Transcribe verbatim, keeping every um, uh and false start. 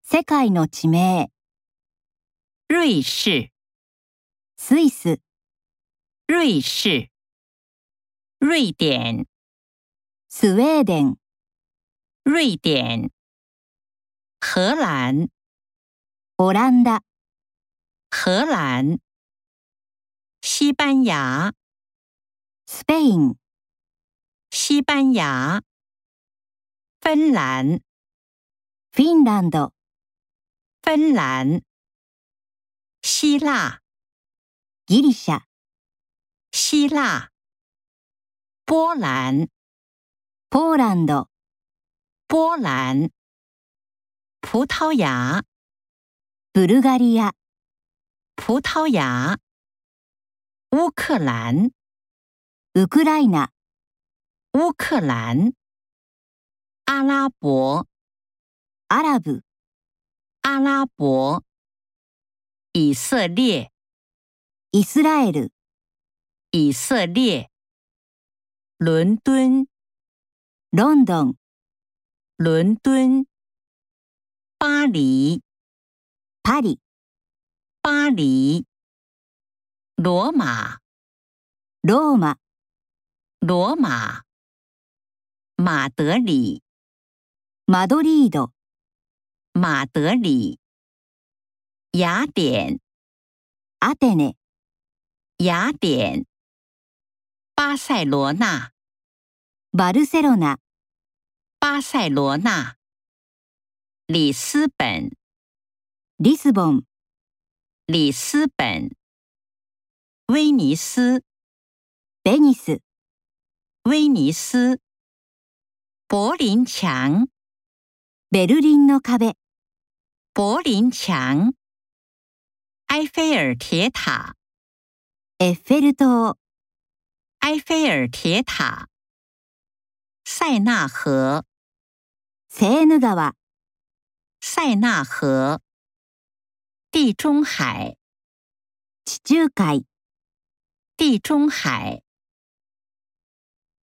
世界の地名、 瑞士、 スイス、 瑞士、瑞典、 スウェーデン、 瑞典、荷蘭、 オランダ、 荷蘭、西班牙、 スペイン、 西班牙、芬蘭、 フィンランド、 芬蘭、希腊、 ギリシャ、 希腊、波蘭、 ポーランド、 波蘭、葡萄牙、 ブルガリア、 葡萄牙、烏克蘭、 ウクライナ、 烏克蘭、阿拉伯、 アラブ、 阿拉伯、以色列、 イスラエル、 以色列、倫敦、 ロンドン、 倫敦、巴黎、 パリ、 巴黎、羅馬、 ローマ、 羅馬、馬德里、 マドリード、 馬德里、雅典、 アテネ、 雅典、巴塞羅那、 バルセロナ、 巴塞羅那、里斯本、 リスボン、 里斯本、威尼斯、 ベニス、 威尼斯、柏林牆、 ベルリンの壁、 柏林牆、埃菲爾鐵塔、 エッフェル塔、 埃菲爾鐵塔、塞納河、 セーヌ川、 塞納河、地中海、 地中海、 地中海、